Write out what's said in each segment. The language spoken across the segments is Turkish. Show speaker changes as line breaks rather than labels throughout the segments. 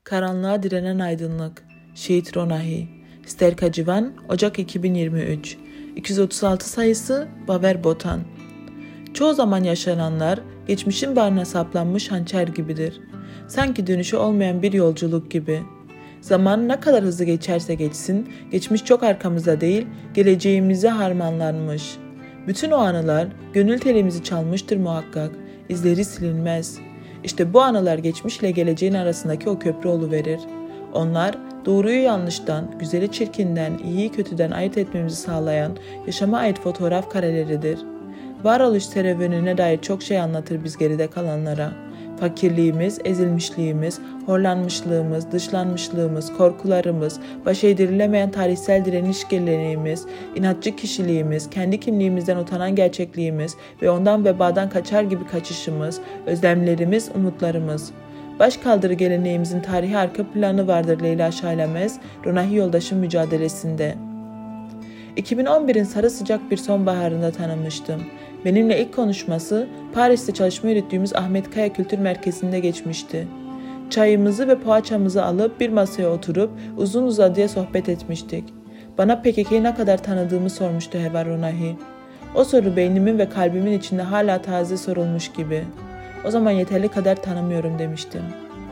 Karanlığa direnen aydınlık. Şehit Ronahi. Sterka Civan, Ocak 2023. 236 sayısı Baver Botan. Çoğu zaman yaşananlar geçmişin bağrına saplanmış hançer gibidir. Sanki dönüşü olmayan bir yolculuk gibi. Zaman ne kadar hızlı geçerse geçsin, geçmiş çok arkamızda değil, geleceğimize harmanlanmış. Bütün o anılar gönül telimizi çalmıştır muhakkak, izleri silinmez. İşte bu anılar geçmişle geleceğin arasındaki o köprü oluverir. Onlar doğruyu yanlıştan, güzeli çirkinden, iyiyi kötüden ayırt etmemizi sağlayan yaşama ait fotoğraf kareleridir. Varoluş serüvenine dair çok şey anlatır biz geride kalanlara. Fakirliğimiz, ezilmişliğimiz, horlanmışlığımız, dışlanmışlığımız, korkularımız, baş eğdirilemeyen tarihsel direniş geleneğimiz, inatçı kişiliğimiz, kendi kimliğimizden utanan gerçekliğimiz ve ondan vebadan kaçar gibi kaçışımız, özlemlerimiz, umutlarımız. Başkaldırı geleneğimizin tarihi arka planı vardır Leyla Şailemez, Ronahi Yoldaş'ın mücadelesinde. 2011'in sarı sıcak bir sonbaharında tanımıştım. Benimle ilk konuşması Paris'te çalışma yürüttüğümüz Ahmet Kaya Kültür Merkezi'nde geçmişti. Çayımızı ve poğaçamızı alıp bir masaya oturup uzun uzadıya sohbet etmiştik. Bana PKK'yı ne kadar tanıdığımı sormuştu Hevar Ronahi. O soru beynimin ve kalbimin içinde hala taze sorulmuş gibi. O zaman yeterli kadar tanımıyorum demiştim.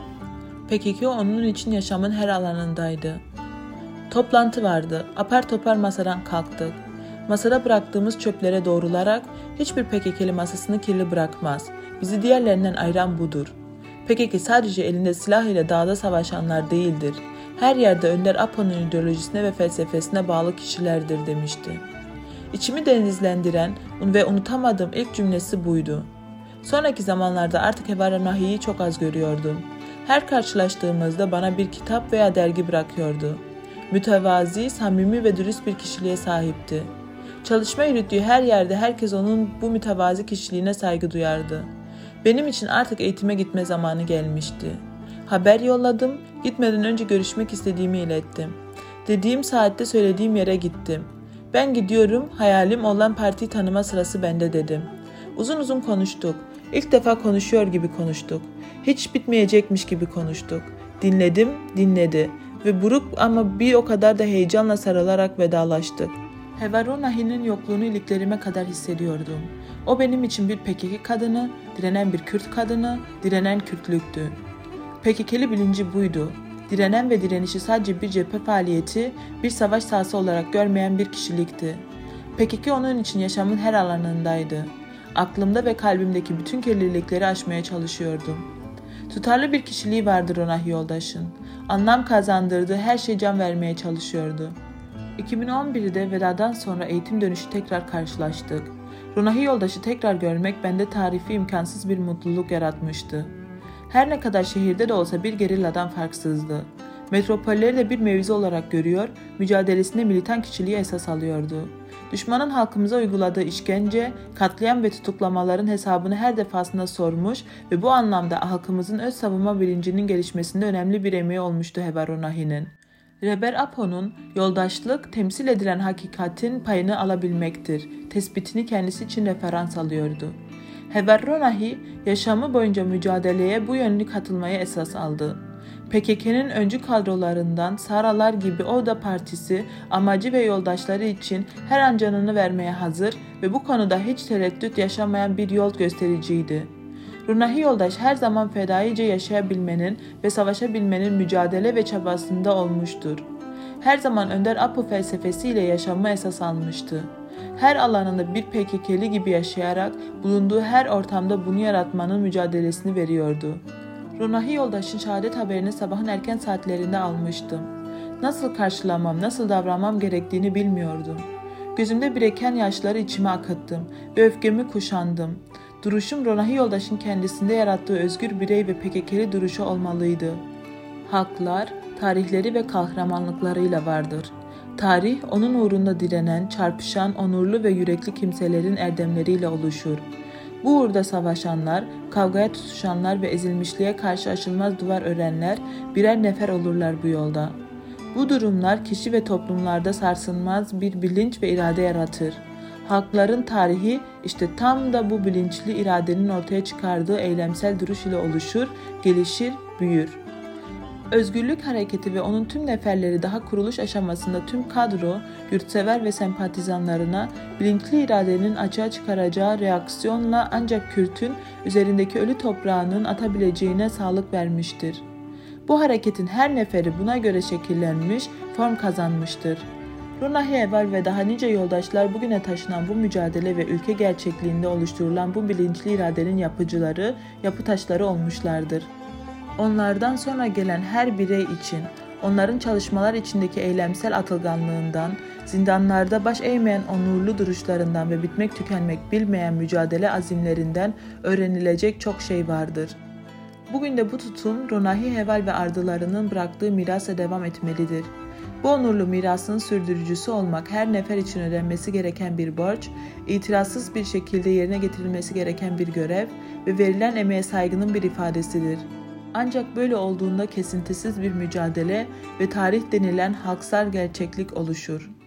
PKK onun için yaşamın her alanındaydı. Toplantı vardı. Apar topar masadan kalktık. Masada bıraktığımız çöplere doğrularak hiçbir PKK'li masasını kirli bırakmaz. Bizi diğerlerinden ayıran budur. PKK sadece elinde silah ile dağda savaşanlar değildir. Her yerde Önder Apo'nun ideolojisine ve felsefesine bağlı kişilerdir demişti. İçimi denizlendiren ve unutamadığım ilk cümlesi buydu. Sonraki zamanlarda artık Hevar Ronahi'yi çok az görüyordum. Her karşılaştığımızda bana bir kitap veya dergi bırakıyordu. Mütevazi, samimi ve dürüst bir kişiliğe sahipti. Çalışma yürüttüğü her yerde herkes onun bu mütevazi kişiliğine saygı duyardı. Benim için artık eğitime gitme zamanı gelmişti. Haber yolladım, gitmeden önce görüşmek istediğimi ilettim. Dediğim saatte söylediğim yere gittim. Ben gidiyorum, hayalim olan partiyi tanıma sırası bende dedim. Uzun uzun konuştuk. İlk defa konuşuyor gibi konuştuk. Hiç bitmeyecekmiş gibi konuştuk. Dinledim, dinledi. Ve buruk ama bir o kadar da heyecanla sarılarak vedalaştık. Hevar Ronahi'nin yokluğunu iliklerime kadar hissediyordum. O benim için bir PKK kadını, direnen bir Kürt kadını, direnen Kürtlüktü. PKK'li bilinci buydu. Direnen ve direnişi sadece bir cephe faaliyeti, bir savaş sahası olarak görmeyen bir kişilikti. PKK onun için yaşamın her alanındaydı. Aklımda ve kalbimdeki bütün kirlilikleri aşmaya çalışıyordum. Tutarlı bir kişiliği vardı Ronahi Yoldaş'ın. Anlam kazandırdığı her şeye can vermeye çalışıyordu. 2011'de vedadan sonra eğitim dönüşü tekrar karşılaştık. Ronahi Yoldaş'ı tekrar görmek bende tarifi imkansız bir mutluluk yaratmıştı. Her ne kadar şehirde de olsa bir gerilladan farksızdı. Metropolleri de bir mevzi olarak görüyor, mücadelesinde militan kişiliği esas alıyordu. Düşmanın halkımıza uyguladığı işkence, katliam ve tutuklamaların hesabını her defasında sormuş ve bu anlamda halkımızın öz savunma bilincinin gelişmesinde önemli bir emeği olmuştu Hevar Ronahi'nin. Reber Apo'nun yoldaşlık, temsil edilen hakikatin payını alabilmektir tespitini kendisi için referans alıyordu. Hevar Ronahi yaşamı boyunca mücadeleye bu yönlü katılmaya esas aldı. PKK'nın öncü kadrolarından Saralar gibi o da partisi, amacı ve yoldaşları için her an canını vermeye hazır ve bu konuda hiç tereddüt yaşamayan bir yol göstericiydi. Ronahi Yoldaş her zaman fedaice yaşayabilmenin ve savaşabilmenin mücadele ve çabasında olmuştur. Her zaman Önder Apo felsefesiyle yaşamı esas almıştı. Her alanında bir PKK'li gibi yaşayarak bulunduğu her ortamda bunu yaratmanın mücadelesini veriyordu. Ronahi Yoldaş'ın şehadet haberini sabahın erken saatlerinde almıştım. Nasıl karşılamam, nasıl davranmam gerektiğini bilmiyordum. Gözümde biriken yaşları içime akıttım ve öfkemi kuşandım. Duruşum Ronahi Yoldaş'ın kendisinde yarattığı özgür birey ve PKK'li duruşu olmalıydı. Haklar, tarihleri ve kahramanlıklarıyla vardır. Tarih, onun uğrunda direnen, çarpışan, onurlu ve yürekli kimselerin erdemleriyle oluşur. Bu uğurda savaşanlar, kavgaya tutuşanlar ve ezilmişliğe karşı aşılmaz duvar örenler birer nefer olurlar bu yolda. Bu durumlar kişi ve toplumlarda sarsılmaz bir bilinç ve irade yaratır. Halkların tarihi işte tam da bu bilinçli iradenin ortaya çıkardığı eylemsel duruş ile oluşur, gelişir, büyür. Özgürlük hareketi ve onun tüm neferleri daha kuruluş aşamasında tüm kadro, yurtsever ve sempatizanlarına bilinçli iradenin açığa çıkaracağı reaksiyonla ancak Kürt'ün üzerindeki ölü toprağının atabileceğine sağlık vermiştir. Bu hareketin her neferi buna göre şekillenmiş, form kazanmıştır. Runahi Eval ve daha nice yoldaşlar bugüne taşınan bu mücadele ve ülke gerçekliğinde oluşturulan bu bilinçli iradenin yapıcıları, yapı taşları olmuşlardır. Onlardan sonra gelen her birey için, onların çalışmalar içindeki eylemsel atılganlığından, zindanlarda baş eğmeyen onurlu duruşlarından ve bitmek tükenmek bilmeyen mücadele azimlerinden öğrenilecek çok şey vardır. Bugün de bu tutum Runahi Heval ve ardılarının bıraktığı mirasa devam etmelidir. Bu onurlu mirasın sürdürücüsü olmak her nefer için ödenmesi gereken bir borç, itirazsız bir şekilde yerine getirilmesi gereken bir görev ve verilen emeğe saygının bir ifadesidir. Ancak böyle olduğunda kesintisiz bir mücadele ve tarih denilen halksal gerçeklik oluşur.